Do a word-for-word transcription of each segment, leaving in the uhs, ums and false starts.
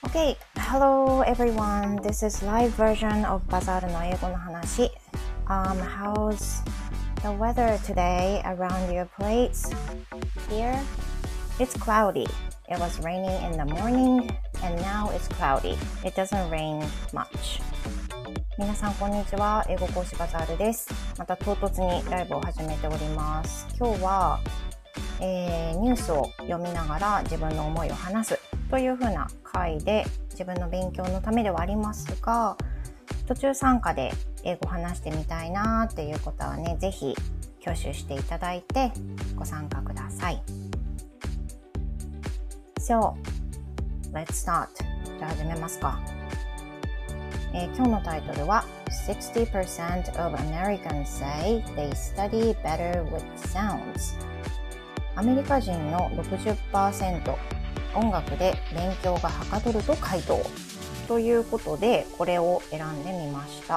Okay, hello everyone. This is live version of バザールの英語の話。Um, how's the weather today around your place? Here, it's cloudy. It was raining in the morning, and now it's cloudy. It doesn't rain much. 皆さんこんにちは。英語講師バザールです。また唐突にライブを始めております。今日は、えー、ニュースを読みながら自分の思いを話すというふうな回で、自分の勉強のためではありますが、途中参加で英語を話してみたいなっていうことはね、ぜひ挙手していただいてご参加ください。So, let's start. じゃあ始めますか。えー、今日のタイトルは sixty percent of Americans say they study better with sounds。 アメリカ人の ろくじゅっパーセント 音楽で勉強がはかどると回答ということで、これを選んでみました。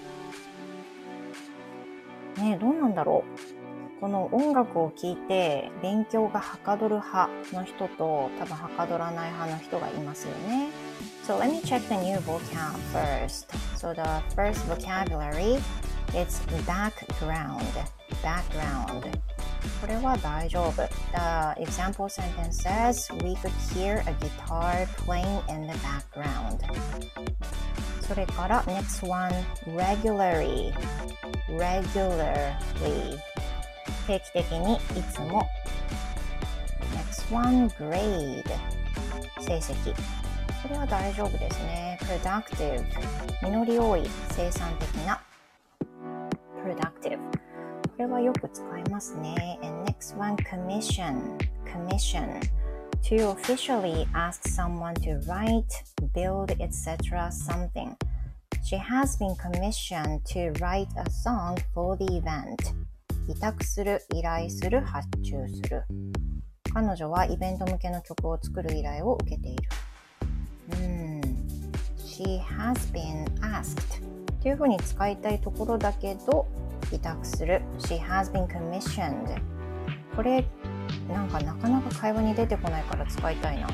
ねえ、どうなんだろう。この音楽を聴いて勉強がはかどる派の人と多分はかどらない派の人がいますよね。So let me check the new vocab first. So the first vocabulary is background. Background. これは大丈夫。The example sentence says, we could hear a guitar playing in the background. それから next one, regularly. Regularly. 定期的にいつも。next one, grade. 成績。これは大丈夫ですね。productive. 実り多い、生産的な。productive.これはよく使いますね。And next one, commission. Commission. To officially ask someone to write, build, et cetera something. She has been commissioned to write a song for the event. 委託する、依頼する、発注する。彼女はイベント向けの曲を作る依頼を受けている。うん。She has been asked. というふうに使いたいところだけど、委託する She has been commissioned これなんかなかなか会話に出てこないから使いたいな。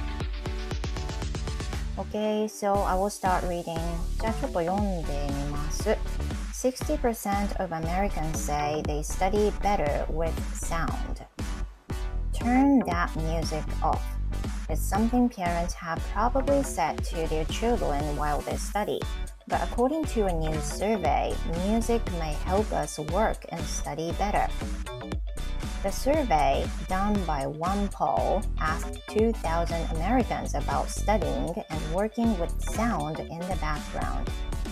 Okay, so I will start reading. じゃあちょっと読んでみます。 sixty percent of Americans say they study better with sound. Turn that music off. It's something parents have probably said to their children while they study.But according to a new survey, music may help us work and study better. The survey, done by OnePoll, asked two thousand Americans about studying and working with sound in the background.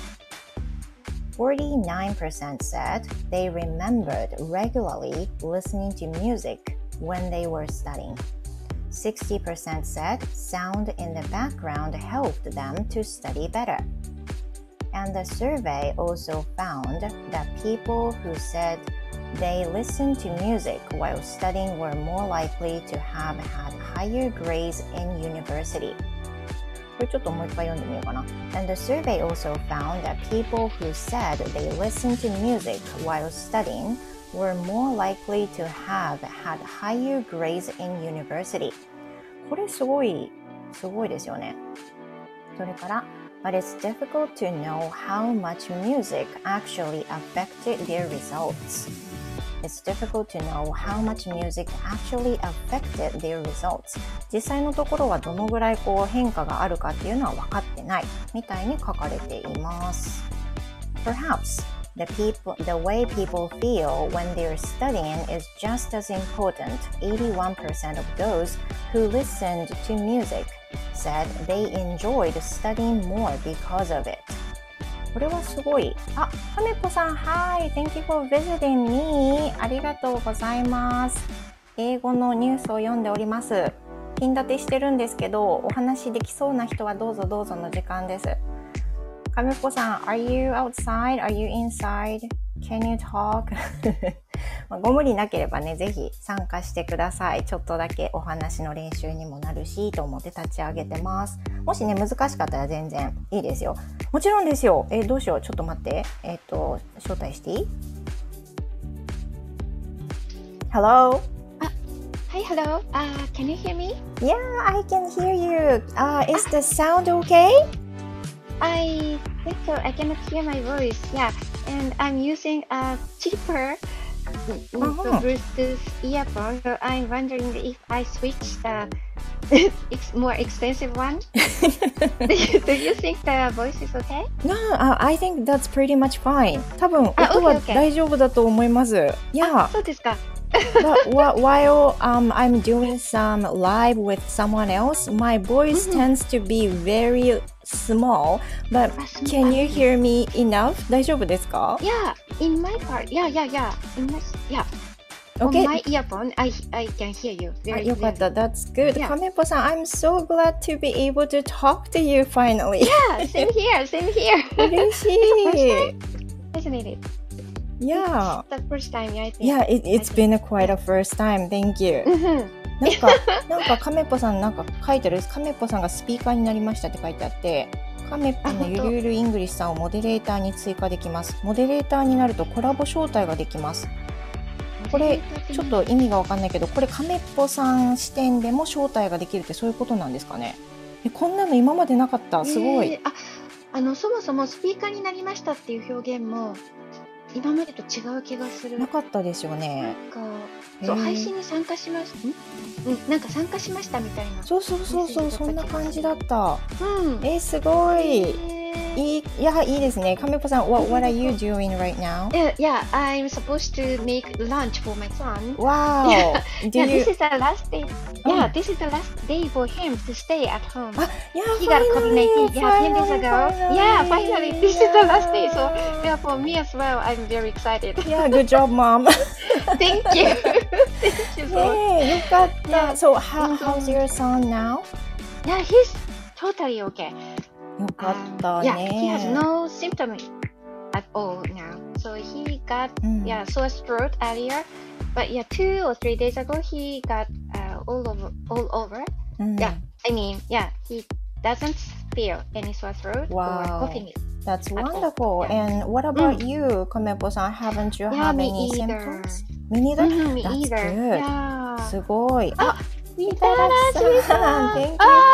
forty-nine percent said they remembered regularly listening to music when they were studying. sixty percent said sound in the background helped them to study better.And the survey also found that people who said they listened to music while studying were more likely to have had higher grades in university. これちょっともう一回読んでみようかな。And the survey also found that people who said they listened to music while studying were more likely to have had higher grades in university. これすごい、すごいですよね。それからBut it's difficult to know how much music actually affected their results. It's difficult to know how much music actually affected their results. 実際のところはどのぐらいこう変化があるかっていうのは分かってないみたいに書かれています。Perhaps the, people, the way people feel when they're studying is just as important. eighty-one percent of those who listened to music.said they enjoyed studying more because of it. これはすごい。あ、かめぽさん、Hi! Thank you for visiting me. ありがとうございます。英語のニュースを読んでおります。ピン立てしてるんですけど、お話できそうな人はどうぞどうぞの時間です。かめぽさん、Are you outside? Are you inside? Can you talk? ご無理なければね、ぜひ参加してください。ちょっとだけお話の練習にもなるしと思って立ち上げてます。もしね、難しかったら全然いいですよ。もちろんですよ。え、どうしよう。ちょっと待って。えっと、招待していい？ Hello? あ、 Hi, hello. Uh, can you hear me? Yeah, I can hear you. Uh, is the sound okay? I think so. I cannot hear my voice. Yeah, and I'm using a cheaper Uh-huh. Bluetooth earphone. So I'm wondering if I switch the ex- more expensive one. do, you, do you think the voice is okay? No, uh, I think that's pretty much fine. 多分あ、 音は OK, OK. 大丈夫だと思います。 あ、 Yeah, そうですか。 but wh- while um, I'm doing some live with someone else, my voice うんうん tends to be very small. But あ、す can you あ hear me enough? 大丈夫ですか Yeah, in my part. Yeah, yeah, yeah. In my, yeah. Okay. On my earphone, I I can hear you あ、 very よかった。 clearly. That's good. Yeah. カメポさん、I'm so glad to be able to talk to you finally. Yeah, same here, same here. 嬉しい。 Isn't it? Yeah. The first time, I think. Yeah, it, it's been a quite a first time. Thank you. うんうん。 なんか、なんかカメポさんなんか書いてる。カメポさんがスピーカーになりましたって書いてあって、カメポのゆるゆるイングリッシュさんをモデレーターに追加できます。モデレーターになるとコラボ招待ができます。これちょっと意味がわかんないけど、これカメポさん視点でも招待ができるってそういうことなんですかね。え、こんなの今までなかった。すごい。 えーあ、あのそもそもスピーカーになりましたっていう表現も今までと違う気がする。 なかったですよね。 なんかそうへー配信に参加しました。ん？うん、なんか参加しましたみたいな。 そうそうそうそう、そんな感じだった。 うん。 え、すごい。 えーいい、いや、いいですね。カメポさん、what, what are you doing right now? Yeah, yeah, I'm supposed to make lunch for my son. Wow. Do Yeah, you? this is the last day. Yeah, this is the last day for him to stay at home. あ、いや、 He got COVID nineteen. Yeah, ten days finally, ago. finally. Yeah, finally, this is the last day. So, yeah, for me as well, I'm very excited. Yeah, good job, mom. Thank you. Thank you so much. ねえ、よかった。 Yeah. So, how, うん how's your son now? Yeah, he's totally okay. よかったね。 Yeah, he has no symptom at all now. So he got うん yeah sore throat earlier, but yeah, two or three days ago he got uh, all over all over. うん Yeah, I mean yeah, he doesn't feel any sore throat Wow. or coughing. That's all. wonderful. Yeah. And what about you, カメポさん? Haven't you Yeah, have me any either. symptoms? Me neither? Mhm, me That's either. good. Yeah. すごい。あ、 みみたらしさん、Thank you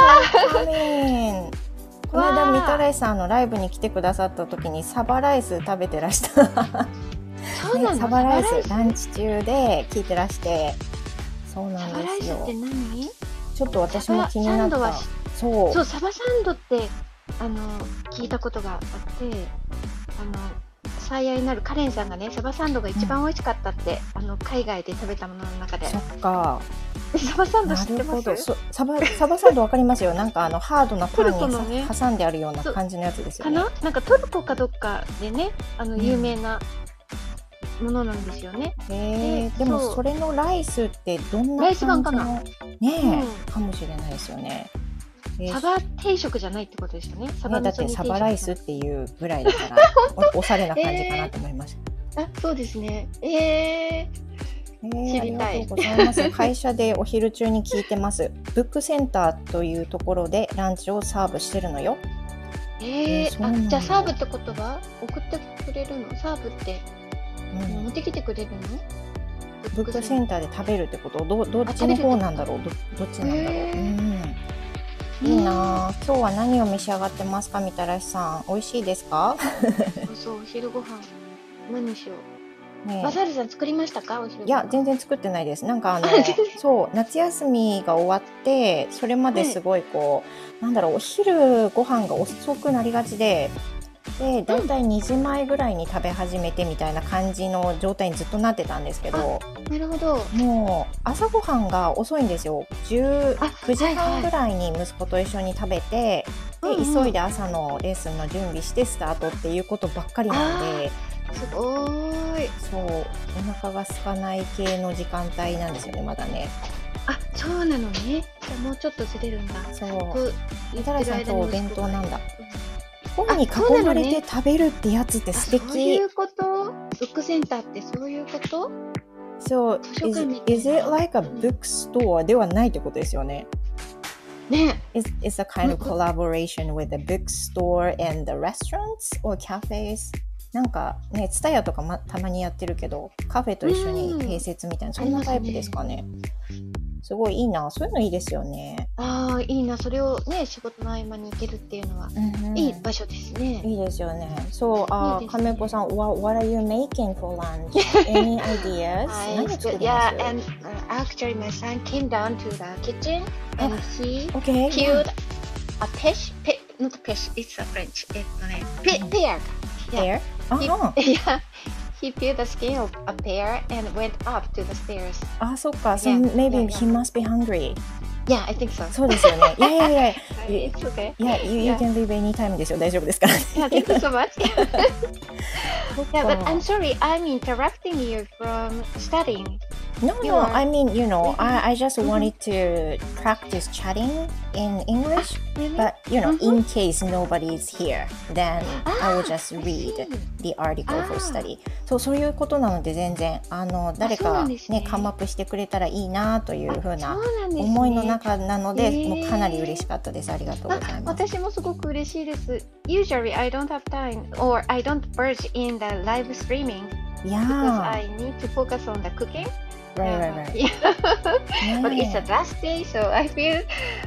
for coming. この間みたらしさんのライブに来てくださった時にサバライス食べてらした、 そうなの？ ね、サバライサバスランチ中で聞いてらして、そうなんサバラですよ。 イスって何？ ちょっと私も気になったサバサンドは。 そうそう、サバサンドってあの聞いたことがあって、あの最愛なるカレンさんがね、サバサンドが一番美味しかったって、うん、あの海外で食べたものの中で。 そっか。 サバサンド知ってます？ なるほど。そサバサバサンドわかりますよ。なんかあのハードなパンにトルコのね挟んであるような感じのやつですよね。 かな？なんかトルコかどっかでね、あのうん有名なものなんですよね。 へえ、 ででもそうそれのライスってどんなライス版感じのかなねえ、 うかもしれないですよね。えーサバ定食じゃないってことですよね。サバね、だって味噌煮定食サバライスっていうぐらいだからお、おしゃれな感じかなと思いました。 あ、そうですね。えー、 えー、 知りたいありがとうございます。会社でお昼中に聞いてます。ブックセンターというところでランチをサーブしてるのよ。 えー、 えーそうなんだあ、じゃあサーブってことは送ってくれるの？サーブってうん、 持ってきてくれるの？ ブックセンターで食べるってことどどっちの方なんだろうどどっちなんだろう、 へーうん、いいなあ。今日は何を召し上がってますかみたらしさん。美味しいですかそうそう、お昼ご飯何にしよう。 ねえバザールさん作りましたか？お昼ご飯。 いや全然作ってないです。なんかあの全然そう夏休みが終わってそれまですごいこう、なんだろうお昼ご飯が遅くなりがちででだいたいにじまえぐらいに食べ始めてみたいな感じの状態にずっとなってたんですけど、 なるほど。 もう朝ごはんが遅いんですよ。じゅうあくじはんぐらいに息子と一緒に食べて、 はいはいで急いで朝のレッスンの準備してスタートっていうことばっかりなんで、 すごーい。 そうお腹が空かない系の時間帯なんですよねまだね。 あ、そうなのね。じゃあもうちょっとずれるんだ。 そう僕みたらしさんとお弁当なんだ。 うん本に囲そうなのねまれて食べるってやつって素あ、そうい敵。 うことブックセンターってそういうこと So 図書 is, 館みたいな is it like a bookstore ではないってことですよね。 ね Is is a kind of collaboration with the bookstore and the restaurants or cafes? なんかね、ツタヤとか、ま、たまにやってるけど、カフェと一緒に併設みたいな、そんなタイプですかね。 すごいいいな。そういうのいいですよね。 ああ、いいな。それをね、仕事の合間に行けるっていうのは、 うんうん、 いい場所ですね。 いいですよね。そう、あ、 いいですね。 亀子さん、what, what are you making for lunch? Any ideas? 何作ります Yeah, and uh, actually my son came down to the kitchen and he Okay. peeled a peach, pe, not peach, it's a French. えっとね、pe, pear. Pear? He, あ yeah, he peeled the skin of a pear and went up to the stairs. あ、そっか。So Yeah, maybe yeah, he must be hungry. Yeah, I think so. そうですよね。いやいやいや。 It's okay. Yeah, you, you Yeah. can leave anytime ですよ。大丈夫ですから。 Yeah, thank you so much. そっ Yeah, か but I'm sorry, I'm interrupting you from studying. No, You no, are- I mean, you know, Mhm. I, I just Mhm. wanted to practice chatting in English, Really? but, you know, Mhm. in case nobody is here, then I will just I read see. the article for あー study. そう、そういうことなので全然、あの、誰そうなかんですねね、カムアップしてくれたらいいなというふうなそうなんですね。 思いの中なので、 へーもうかなり嬉しかったです。ありがとうございあ、 ます。 私もすごく嬉しいです。Usually I don't have time or I don't verge in the live streaming because Yeah, I need to focus on the cooking. right, right, right. Yeah. But it's ね the last day, so I feel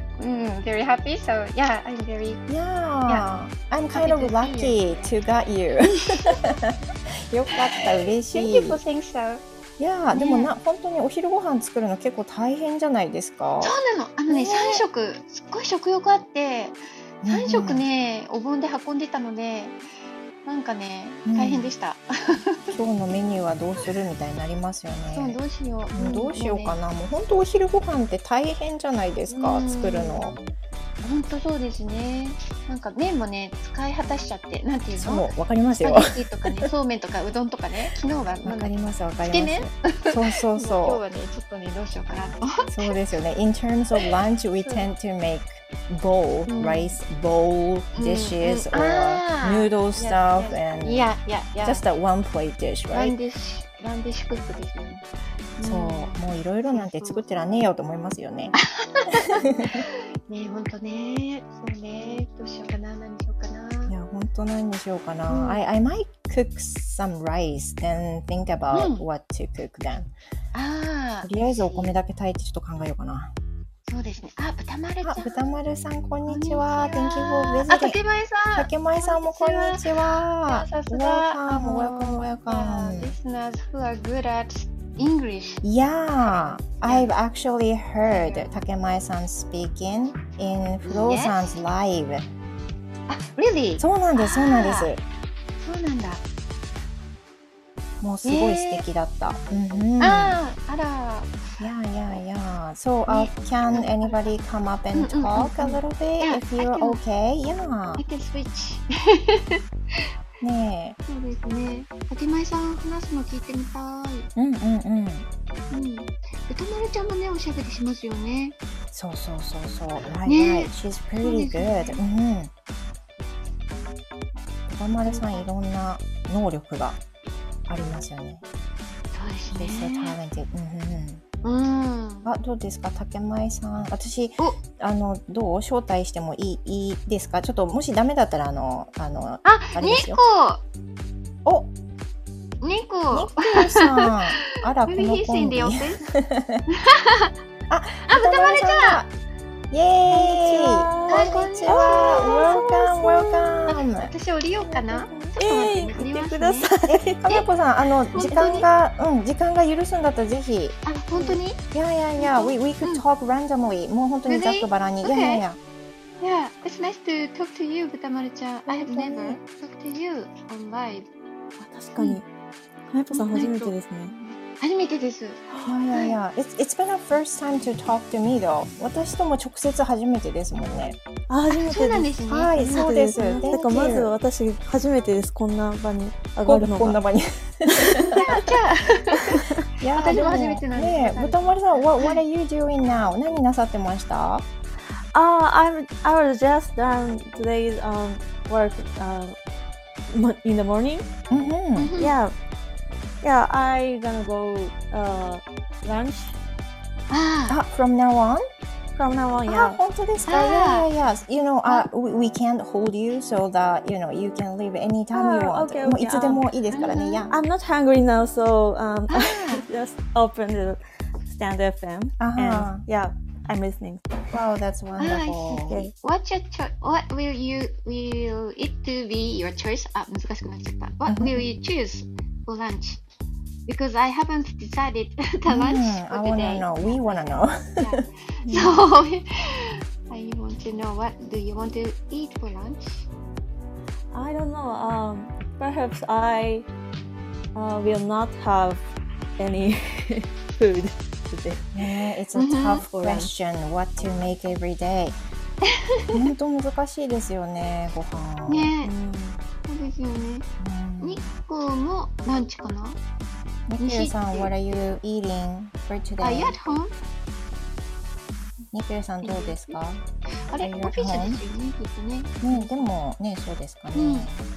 mm, very happy. So yeah, I'm very Yeah, I'm kind Happy of to see lucky you. to got you. よかった、嬉し Thank い。 you for saying so. いやー、 ねでもな、本当にお昼ご飯作るの結構大変じゃないですか。 そうなの。あのね、 ね三食すっごい食欲あって、三食うんね、お盆で運んでたので、なんかね、 うん大変でした。 今日のメニューはどうするみたいになりますよそうね。 どうしよう。 うんどうしようかな。 な。もう本当お昼ご飯って大変じゃないですか、 うん作るの。 本当そうですね。なんか麺もね、使い果たしちゃって、なんていうその？ う、わかりますスパよ。 ゲッティとかね、そうめんとかうどんとかね、昨日はなんわだかります、わかりつけ麺ます。そうそう今日そはね、ちょっとね、どうしようかなと。 う。そうですよね。In terms of lunch, we そう tend to make bowl, うん rice bowl うん dishes うん or あー noodle stuff and いやいやいや、 just a one plate dish, ラン right? ディッシュ、ランディッシュクックですよね。 そう、もういろいろなんて作ってらんねえよと思いますよね。 ねえ、ほんとね。そうね。どうしようかな、何しようかな。 いや、本当何にしようかな。 うん I, I might cook some rice, then think about うん what to cook then. ああ。 とりあえずお米だけ炊いてちょっと考えようかな。 そうですね。あ、豚丸ちゃあ、 ん。 豚丸さん、こんにちこは。 ん Thank にち you は for あ、 visiting. 竹前さん。 竹前さんもこんにちは。 さすが。 Welcome, welcome, welcome. Listeners who are good at English. Yeah, I've actually heard 竹前さん speaking in Flo さん 's live. あ、really? そうなんです、そうなんです。 そうなんだ。 もうすごい素敵だった。うんうん。 ああ、あら。 Yeah, yeah, yeah. So, uh, can anybody come up and うんうんうんうん talk a little bit Yeah, if you're I can- okay? Yeah. I can switch. ねそうですね。竹前さん話すの聞いてみたい。 え。うんうんうん。 うん。歌丸ちゃんもね、おしゃべりしますよね。 そうそうそうそう。Right, ね right. She's そう pretty です good. ねうんうん。歌丸さんいろんな能力がありますよね。 そうで She's す so ね。 talented. うんうんうん。 うん。 あ、どうですか、竹前さん。私、 おあの、どう招待してもいい、いいですか。ちょっと、もしダメだったら、あの、あの、 あ、 あれですよ。 猫お、 猫猫さん。あら、こ Maybe の he's コン in ビ。 the あ、 office. あ、 歌丸ちゃん。 イエーイ。 こんにちは。 Welcome, welcome. 私降りようかな。 ええー、 降りますね見てください。 え、かなこさん、あの、 当に時間が、うん、時間が許すんだったら、ぜひ。 あ、本当に？ いやいやいや、we, we could talk randomly. もう本当にざっくばらんに。い Really? やいやいや。 Yeah, it's nice to talk to you, 豚丸ちゃん。I have 本当に never talked to you on live. 確かに。はやぽさん初めてですね。 初めてです。 いやいやいや、it's, it's been a first time to talk to me though. 私とも直接初めてですもんね。 あ、初めてです。 そうなんですね。 はい、 初そうです。 めてね Thank だからまず you. 私初めてです。こんな場に上こがるのが。 こんな場に。 じゃあ、 いや私も初めてなんですねえ、豚丸さん、what, what are you doing now? 何なさってました？ あ、I'm I was just done today's um work uh mo- in the morning. うんうん。 Yeah, yeah. I gonna go uh lunch ああ、from now on? from now on. あ、 Yeah. 本当ですか？ あー Yeah, yeah, yeah. You know, uh, we, we can't hold you so that, you know, you can leave anytime you あ want. okay, okay. もういつでもいいですからね。 うん Yeah. I'm not hungry now, so um あ just open the Stand F M. Uh-huh. And yeah, I'm listening. Wow, that's Ah, I see. wonderful. Okay. What's your cho- what will you will it to be your choice? あ、難しくなっちゃった。What will you choose for lunch? Because I haven't decided the lunch Mm, for I wanna today. know. We wanna know. Yeah. So I want to know what do you want to eat for lunch? I don't know. Um, perhaps I uh, will not have any food today. Yeah, it's a Mhm. tough question. What to make every day. 本当難しいですよね、ご飯。 ね、 Mm. そうですよね。 うん日光もランチかな？ ニキルさん、what are you eating for today? あ、you at home? ニキルさんどうですか？ あれ、 Are オ you フ at ィスですよ home? ね、きっとね。 ね、でもね、そうですかね。 うん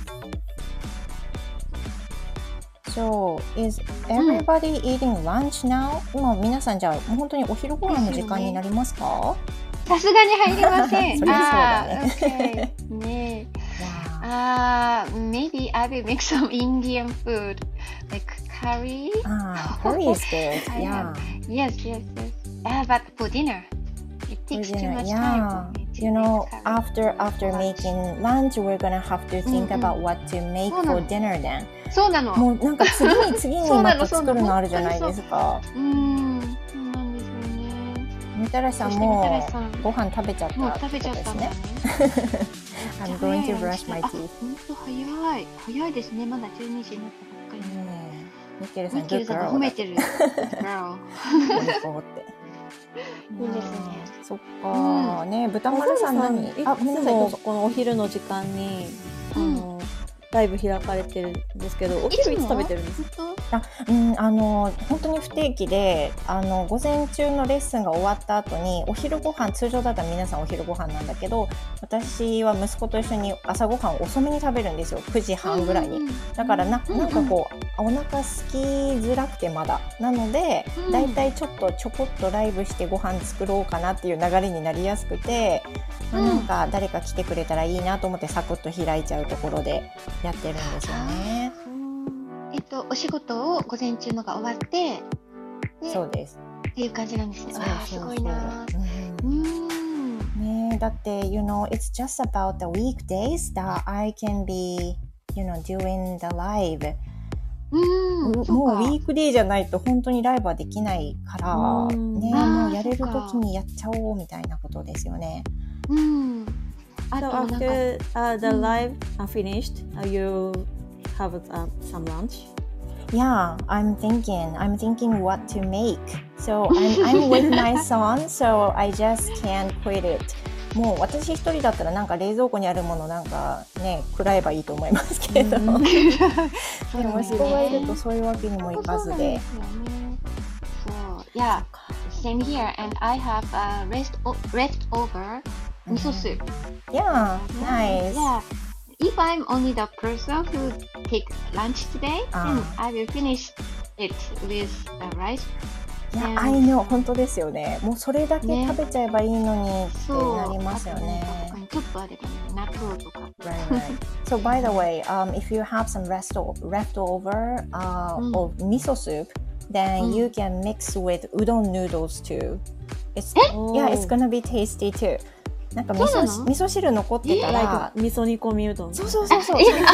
So, is everybody eating lunch now? 今皆さんじゃあ本当にお昼ご飯の時間になりますか？ さすがに入りません。 そりゃそうだねあー OK ねえ。 わあー、maybe I will make some Indian food like curry. あ、ah, curry is good. I Yeah. Yes, yes, yes. Ah, but for dinner, it takes For too dinner, much yeah. time for me to You know, make curry. after after Lunch. making lunch, we're gonna have to think うんうん about what to make そうな for の dinner then. そうなの。 もうなんか次に次にそうなまたのそうなの作るのあるじゃないですか。 うーん、そうなんですよね。 みたらしさんそしてみたらもしさんご飯食べちゃったもうって食べちゃったんだことですねね。。 I'm going to brush my あ、 teeth. 本当早い。早いですね。まだじゅうにじになったばっかり。 ねえミケルさん、 ミケル good さんが girl 褒めてる。Girl こうって。 いいですねあーそっか、ね豚丸さん何？ いあ、ごめんなさい、どうぞ。 つもこのお昼の時間に、 うんあのライブ開かれてるんですけど、おいつも昼いつ食べてるんですか？ 本あ、うん、あの本当に不定期で、あの午前中のレッスンが終わった後にお昼ご飯、通常だったら皆さんお昼ご飯なんだけど、私は息子と一緒に朝ご飯を遅めに食べるんですよ。くじはんぐらいに。 うんうんうんだからな、 うんうんなんかこうお腹空きづらくてまだなので、 うんだいたいちょっとちょこっとライブしてご飯作ろうかなっていう流れになりやすくて、まあうんなんか誰か来てくれたらいいなと思ってサクッと開いちゃうところでやってるんですよね。 えっと、お仕事を午前中のが終わって、でそうです。 っていう感じなんですね。 そうああ、 そうそうすごいな。 ううんん。 ねえ、だって you know it's just about the weekdays that I can be you know doing the live、 うん。 もうそうかウィークデーじゃないと本当にライブはできないから、 うんねえ、 あーもうやれるそっか時にやっちゃおうみたいなことですよね。 うん。あ So となんか、 after uh, the うん live are finished, uh, you have uh, some lunch. Yeah, I'm thinking, I'm thinking what to make. So I'm, I'm with my son, so I just can't quit it. もう私一人だったらなんか冷蔵庫にあるものなんかね、食らえばいいと思いますけど。 うんでそうも息子がいるとそういうわけにもいかずで。 そう、yeah, same here, and I have a rest o- leftover miso soup. Yeah, nice. Yeah, if I'm only the person who take lunch today, Ah. then I will finish it with the rice. いや、 ね I know 本当ですよね。もうそれだけね食べちゃえばいいのにってそう、 なりますよね。 あとなんか他にちょっとあれだね、納豆とか。 Right, right. So by the way, um, if you have some rest leftover uh, Mm. of miso soup, then Mm. you can mix with udon noodles too. It's Oh. yeah, it's gonna be tasty too. なんか味そうな噌の味噌汁残ってたら、 Like 味噌煮込みうどん。 そうそうそうそう。 えそれで I've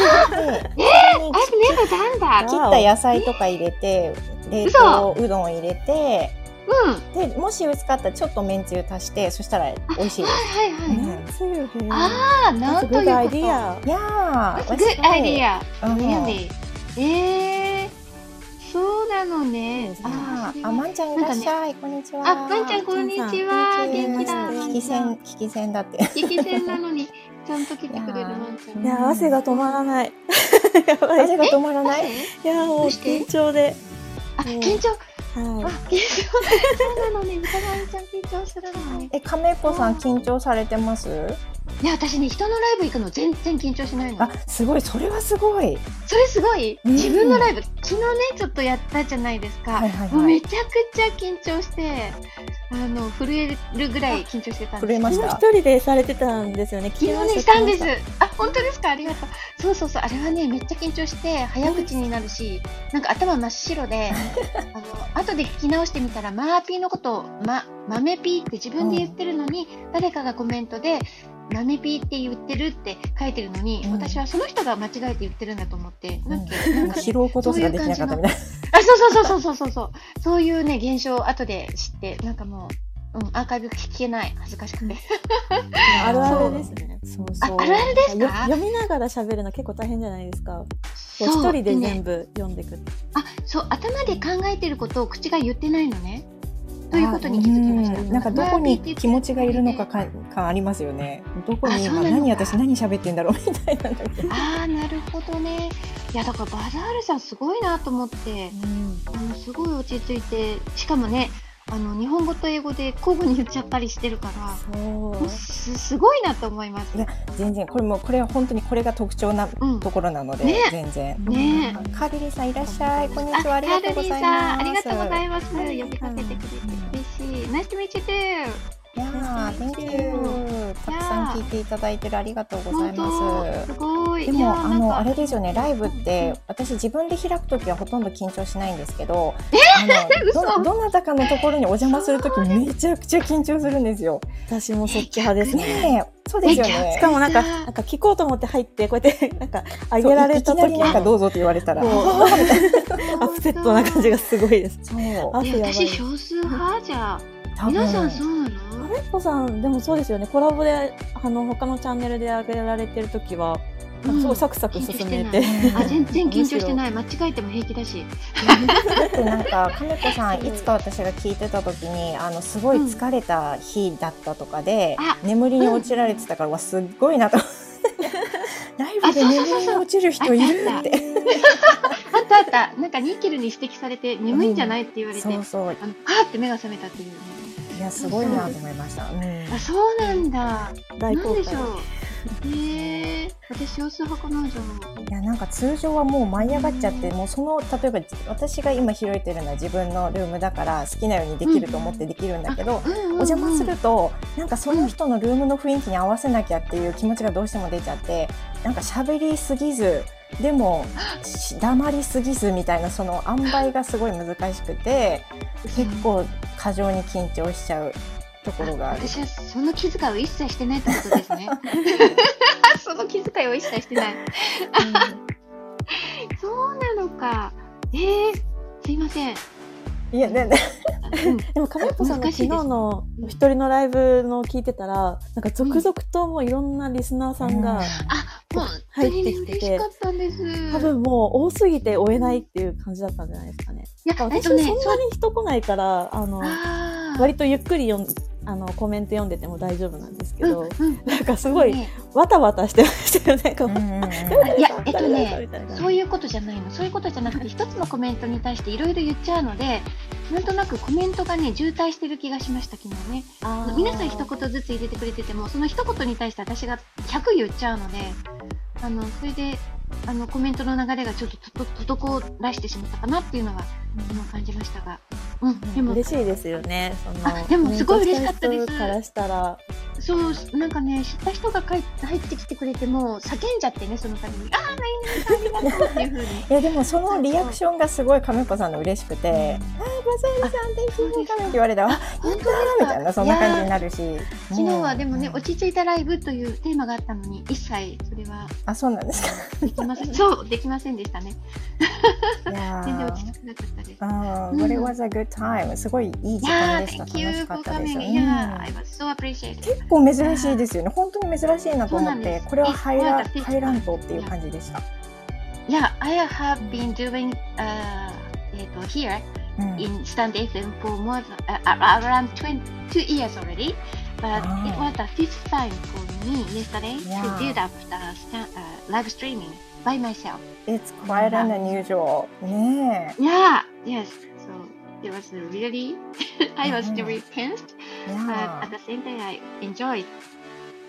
never done that. 切った野菜とか入れて、冷凍うどんを入れて、 うん。 でもし薄かったらちょっとめんつゆ足して、そしたら美味しいです。 はいはいはい。 うんつゆへー。 ああ、な That's ん a という good こと。 idea. Yeah, That's a good idea. うん Really? えー、そうなのね。 そうですねあー、 あ、まんちゃんいらっしゃい。こんにちは。 あ、まんちゃんこんにちは。 こんにちは元気だ。 聞き戦、聞き戦だって。 聞き戦なのに、ちゃんと来てくれるまんちゃん。 いや、汗が止まらない。やばい。 汗が止まらない。 いや、もうどうして緊張で。 あ、緊張。あ、 は緊張。そうなのね。歌まんちゃん緊張するのね。 え、亀子さん緊張されてます？ いや、私ね、人のライブ行くの全然緊張しないの。 あ、すごい、それはすごい。 それすごい、 うん自分のライブ、昨日ね、ちょっとやったじゃないですか。 はいはいはいもうめちゃくちゃ緊張して、あの、震えるぐらい緊張してたんです震えました昨日一人でされてたんですよね。 昨日ね、したんです。あ、本当ですか、ありがとう。そうそうそう、あれはね、めっちゃ緊張して、早口になるし、なんか頭真っ白で、あの、後で聞き直してみたら、マーピーのことを、ま、豆ピーって自分で言ってるのに、誰かがコメントで、豆ピーって言ってるって書いてるのに、 うん私はその人が間違えて言ってるんだと思って、なんか、なんかね、 拾うことすらできなかったみたいな。 あ、そうそうそうそうそうそう。そういうね、現象を後で知って、なんかもう、うん、アーカイブ聞けない。恥ずかしくて。 あるあるですね。 そうそう。 ああるあるですかよ読みながら喋るの結構大変じゃないですか。こうそう一人ででね全部読んでいく。 あ、そう、頭で考えてることを口が言ってないのね。ということに気づきました。 うんなんかどこに気持ちがいるのかか感ありますよね。どこに今何私何喋ってんだろうみたいな。 ああ、なるほどね。いや、だからバザールさんすごいなと思って、あのすごい落ち着いて、しかもね、あの日本語と英語で交互に言っちゃったりしてるから、 そうもうすすごいなと思います。 いや全然これもこれは本当にこれが特徴なうんところなので、 ね全然。 ねえ。 カーリリーさんいらっしゃい。こんにちは、ありがとうございます。 あ、カールリーさんありがとうございます。呼びかけてくれて嬉しい。ナイスとミーチュートゥー。 いやー、Thank you。たくさん聞いていただいてるありがとうござい本ます。 当すごい。 でもあのあれでですよね、ライブって私自分で開くときはほとんど緊張しないんですけど、あの嘘どどなたかのところにお邪魔するときめちゃくちゃ緊張するんですよ。 私もそっち派ですね。 ねえ、そうですよね。 しかもなんか、 めっちゃなんか聞こうと思って入って、こうやって、なんか、あげられたそういきなり時なんかどうぞって言われたら、 こうあーみたいなアップセットな感じがすごいです。 そう汗やばい。 私少数派じゃ。 多分皆さんそうなの？ カメットさん、でもそうですよね。コラボで、あの、他のチャンネルで上げられてる時は、なんかすごいサクサク進めて。 緊張してないあ、全然緊張してない。間違えても平気だし。 だってなんか亀子さんいつか私が聞いてた時にあのすごい疲れた日だったとかで、 うん、 眠りに落ちられてたから、わすっごいなと思ってライブで眠りに落ちる人いるってあったあった。なんかニッケルに指摘されて眠いんじゃないって言われて、 そうそう、 あのパーって目が覚めたっていうね。 いやすごいなと思いました。うん、 あ、そうなんだ。 大公開なんでしょう。へえ、私少数派かなじゃあ。 いやなんか通常はもう舞い上がっちゃって、もうその例えば私が今広いてるのは自分のルームだから好きなようにできると思ってできるんだけど、 うんうんうん、 お邪魔するとなんかその人のルームの雰囲気に合わせなきゃっていう気持ちがどうしても出ちゃって、なんか喋りすぎずでも黙りすぎずみたいなその塩梅がすごい難しくて、結構過剰に緊張しちゃうところがある。 私はその気遣いを一切してないってことですね。その気遣いを一切してない。そうなのか。えー、すいません。 いやね、ねうん、 でもカメットさんの昨日の一人のライブの聞いてたら、なんか続々ともういろんなリスナーさんが、 うん、あ、本当にね、嬉しかったんです。 多分もう多すぎて追えないっていう感じだったんじゃないですかね。 いや、 私そんなに人来ないから、あの、 あ割とゆっくり読んあのコメント読んでても大丈夫なんですけど、 うんうん、 なんかすごいわたわたしてましたよね。 うんうんうん、 いや、えっとね、そういうことじゃないの。そういうことじゃなくて、一つのコメントに対していろいろ言っちゃうので、なんとなくコメントがね、渋滞してる気がしました、昨日ね。皆さん一言ずつ入れてくれてても、その一言に対して私がひゃく言っちゃうので、あの、それで、あの、コメントの流れがちょっとと滞らしてしまったかなっていうのが、今感じましたが。うん、でも嬉しいですよね。そのあ、でもすごい嬉しかったです。 からしたら、 そう、なんかね、知った人が入ってきてくれても叫んじゃってね、その度に、ああ、何々さんありがとうっていう風に。 いやでもそのリアクションがすごい亀子さんの嬉しくて、うん、ああ、バザールさん、天気いいかなって言われたら、あ、本当だみたいなそんな感じになるし。 昨日はでもね、落ち着いたライブというテーマがあったのに、一切それは。 あ、そうなんですか。 できません。そう、できませんでしたね。 いや全然落ち着かなかったです。 ああ、But it was a good time。すごいいい時間でした。楽しかったですよね。 I was so appreciated。 結構珍しいですよね。本当に珍しいなと思って、これはハイラハイランドっていう感じでした。 いや、I have been doing、uh, えっと here、うん、in Stand エフエム for more than、uh, around twenty-two years already, but it was the fifth time for me yesterday yeah. to do that uh, stand, uh, live streaming by myself. It's quite an unusual. ねえ。 Yeah, yes. So it was really, I was very tensed, yeah. but at the same time I enjoyed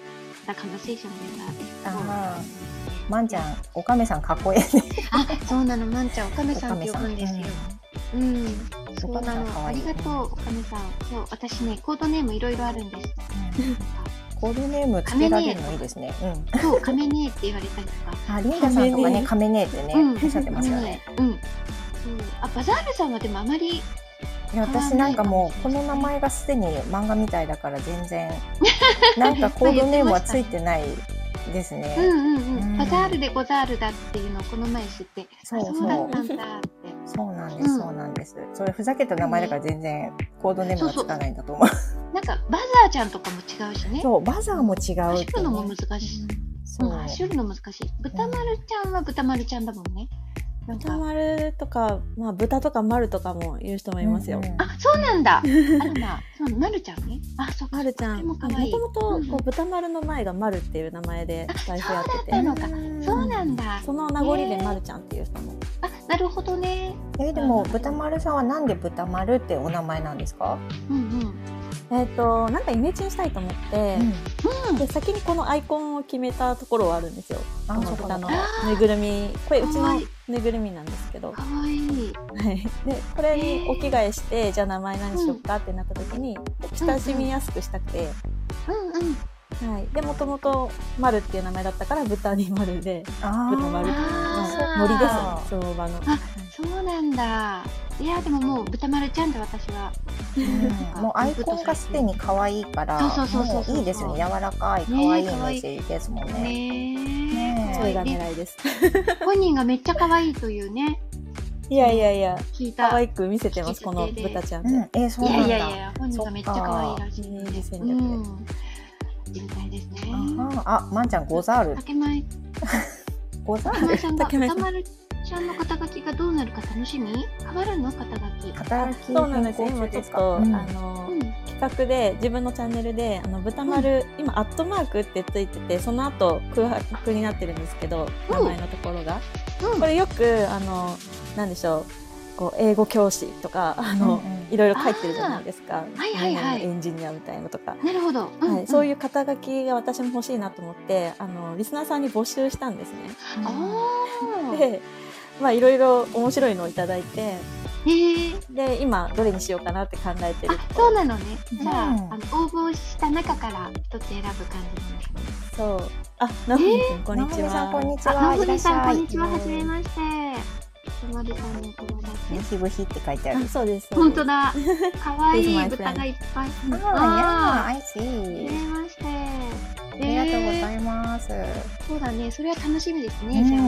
the conversation with her. ああ、まんちゃん、おかめさんかっこいいね。 あ、そうなの、まんちゃん、おかめさんって呼ぶんですよ。うん、そうなの。ありがとう、おかめさん。そう、私ね、コードネームいろいろあるんです。 コードネームつけられるのいいですね。うん。 そう、カメネーって言われたりとか。 あ、リンダさんとかね、カメネーってね、おっしゃってますよね。 うん。そう、あ、バザールさんはでもあまり。 いや、私なんかもうこの名前がすでに漫画みたいだから全然なんかコードネームはついてないですね。 うんうんうん。バザールでゴザールだっていうのをこの前知って、そうそうだったんだって。 そうなんです、そうなんです。それふざけた名前だから全然コードネームがつかないんだと思う。 なんかバザーちゃんとかも違うしね。 そう、バザーも違う。 走るのも難しい。そう、走るの難しい。豚丸ちゃんは豚丸ちゃんだもんね。 豚丸とか、まあ、豚とか丸とかも言う人もいますよ。うんうん、あ、そうなんだ。あらまあ、そう、丸ちゃんね。あ、そうか。 丸ちゃん。もともと豚丸の前が丸っていう名前でスタイフやってて。 そうだったのか。そうなんだ。 その名残で丸ちゃんっていう人も。 あ、なるほどね。 え、でも豚丸さんはなんで豚丸ってお名前なんですか？ うんうん。 えっと、なんかイメチェンしたいと思って、うん、で先にこのアイコンを決めたところはあるんですよ。この豚のぬいぐるみ、これうちのぬいぐるみなんですけど、 かわいい。 はい。でこれにお着替えして、じゃあ名前何しよっかってなった時に、親しみやすくしたくて、 うんうん。 はい。でもともと丸っていう名前だったから豚に丸で、豚丸っていう森ですよね、その場の。 あ、そうなんだ。いやでももう豚丸ちゃんで私は、 うん、もうアイコンがすでに可愛いから、もういいですよね。柔らかい可愛いイメージですもんね。 ね、 それが狙いです。 本人がめっちゃ可愛いというね。 いやいやいや、 聞いた。 可愛く見せてますこの豚ちゃんで。 うん、え、そうなんだ。 いやいやいや、本人がめっちゃ可愛いらしい。 イメージ戦略で。 みたいですね。 あ、まんちゃんゴザール。 竹前。 ゴザール。 竹前さんが豚丸ちゃんの肩書きがどうなるか楽しみ？変わるの肩書き？ 肩書き。 そうなんですよ。今ちょっと、うん、あの、うん、企画で自分のチャンネルであの豚丸、うん、今アットマークってついてて、その後空白になってるんですけど、うん、名前のところが、うん、これよくあのなんでしょう。こう英語教師とかあの、うんうん、いろいろ書いてるじゃないですか。 はいはいはい。 エンジニアみたいなのとか。 なるほど。 うんうん、はい。そういう肩書きが私も欲しいなと思って、あのリスナーさんに募集したんですね。 ああ。 で、まあいろいろ面白いのをいただいて、 えー、 で今どれにしようかなって考えてる。 あ、そうなのね。じゃあ、うん、あの応募した中から一つ選ぶ感じなんですね。 そう。あ、なほみくんこんにちは。 こんにちは。 なほみさんこんにちは。はじめまして。まるさんの友達。 ブヒブヒって書いてある。 そうです。 本当だ。可愛い豚がいっぱい。 ああ、I see。 はじめまして。 ありがとうございます。 そうだね。それは楽しみですね。じゃ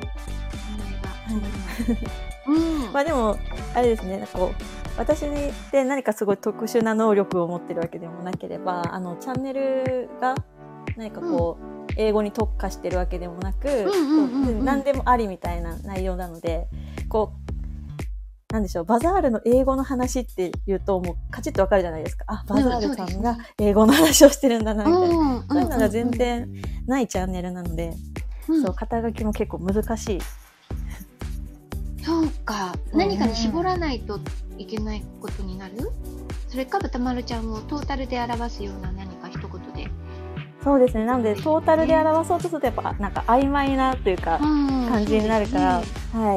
あ。うん。まあでもあれですね。なんかこう私で何かすごい特殊な能力を持ってるわけでもなければ、あのチャンネルが何かこう。英語に特化してるわけでもなく、何でもありみたいな内容なので、こうなんでしょう、バザールの英語の話って言うともうカチッとわかるじゃないですか。あ、バザールさんが英語の話をしてるんだなみたいな、そういうのが全然ないチャンネルなので、うん、そう肩書きも結構難しい。 そうか、何かに絞らないといけないことになる？それか豚丸ちゃんをトータルで表すような何か一言で。 そうですね。なのでトータルで表そうとするとやっぱなんか曖昧なというか感じになるから、はい、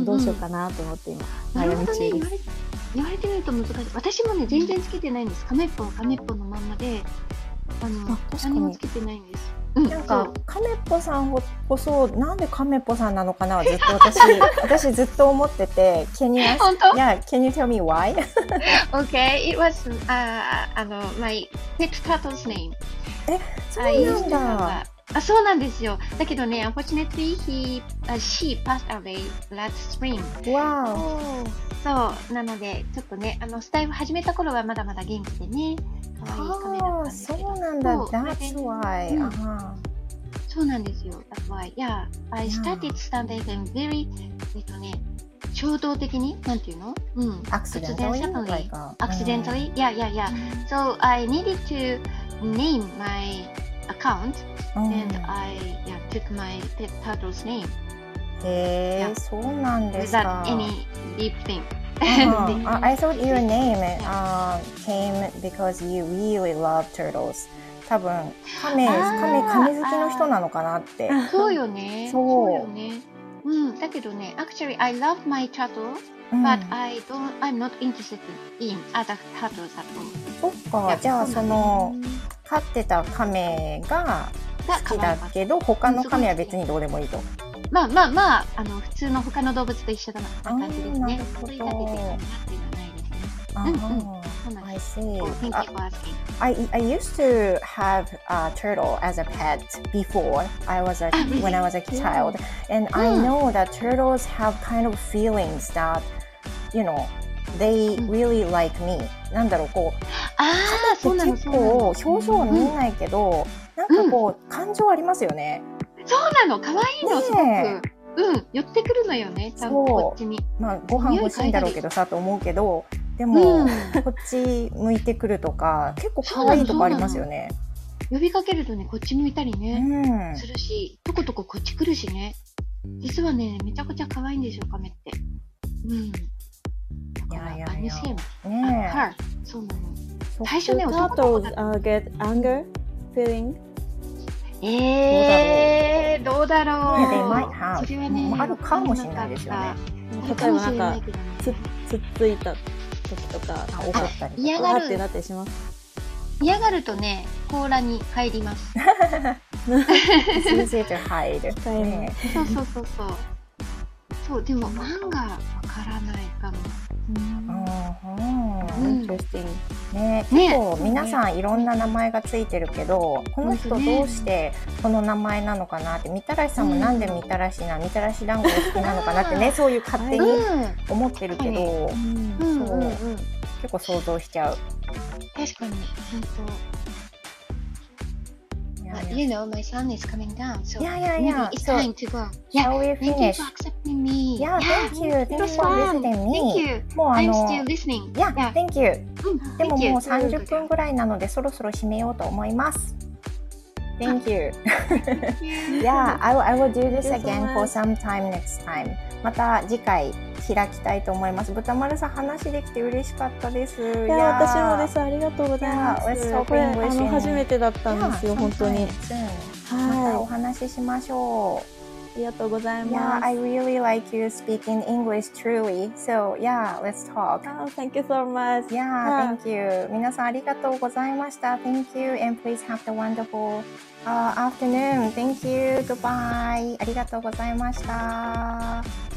どうしようかなと思って今悩み中です。 言われてみると難しい。私もね全然つけてないんです。カメッポンカメッポンのまんまで、あの何もつけてないんです。 なんかカメッポさんこそなんでカメッポさんなのかなずっと私私ずっと思ってて。Can you ask? Yeah, can you tell me why? Okay, it was uh, あの my pet turtle's name. え、そうなんだ。 あ、そうなんですよ。だけどね、unfortunately he, uh, she passed away last spring. Wow. そうなのでちょっとね、あのスタイル始めた頃はまだまだ元気でね、可愛いカメだったんですけど。 そうなんだ。That's why. うん、 そうなんですよ。That's why. Yeah, I started standing and very えっとね。衝動的になんていうの？うん。 Accidentally. Accidentally. Yeah, yeah, yeah. So I needed to name my account and I yeah, took my pet turtle's name. へえ、そうなんですか。 Without any deep thing. I thought your name uh, came because you really love turtles. 多分亀、亀、亀好きの人なのかなって。 そうよね。そうよね。うん。だけどね、actually I love my turtle, but I don't, I'm not interested in other turtles at all. そっか。じゃあその飼ってた亀が好きだけど、他の亀は別にどうでもいいと。 まあまあまあ、あの普通の他の動物と一緒だな感じですね。それだけでかなっていうのはないですね。うんうん。 I see. I I used to have a turtle as a pet before I was a when I was a child, and I know that turtles have kind of feelings that, you know, they really like me. なんだろうこう。 ああ、そうなの。 結構表情は見えないけど、なんかこう感情ありますよね。 そうなの。可愛いのすごく。うん、寄ってくるのよね。ちゃんとこっちに。 まあご飯欲しいんだろうけどさと思うけど。でも、うん、こっち向いてくるとか結構可愛いとこありますよね。 呼びかけるとねこっち向いたりね、うん、するしとことここっち来るしね。実はねめちゃくちゃ可愛いんですよカメって。うん。いやいやいや。 ねえ。 そうなの。最初ね男の子だった。 get anger feeling。 えー、どうだろう。 ね、they might have。 それはねあるかもしれないですよね。 例えばなんかつつっついた時とか怒ったり嫌がるってなったりします。 嫌がるとね甲羅に入ります。 先生と入る。 そうそうそうそう。そうでも漫画わからないかも。 ね、結構皆さんいろんな名前がついてるけど、この人どうしてこの名前なのかなって、みたらしさんもなんでみたらしなみたらし団子が好きなのかなってね、そういう勝手に思ってるけど、結構想像しちゃう。 確かに本当。You know, my son is coming down, so yeah, yeah, yeah. maybe it's so, time to go. Yeah, shall we finish? Thank you for accepting me. Yeah, yeah thank you. Thank you for visiting me. Thank you. もうあ I'm の still listening. Yeah, yeah. thank you. うん、 でももうさんじゅっぷんぐらいなのでそろそろ締めようと思います。Thank you. Yeah, I will, I will do this again for some time next time. また次回開きたいと思います。豚丸さん話できて嬉しかったです。いや、私もです。ありがとうございます。これあの初めてだったんですよ、本当に。 またお話ししましょう。 ありがとうございます。 Yeah, I really like you speaking English truly. So yeah, let's talk. Oh, thank you so much. Yeah, thank you. 皆さんありがとうございました。Thank you and please have the wonderful、uh, afternoon. Thank you. Goodbye. ありがとうございました。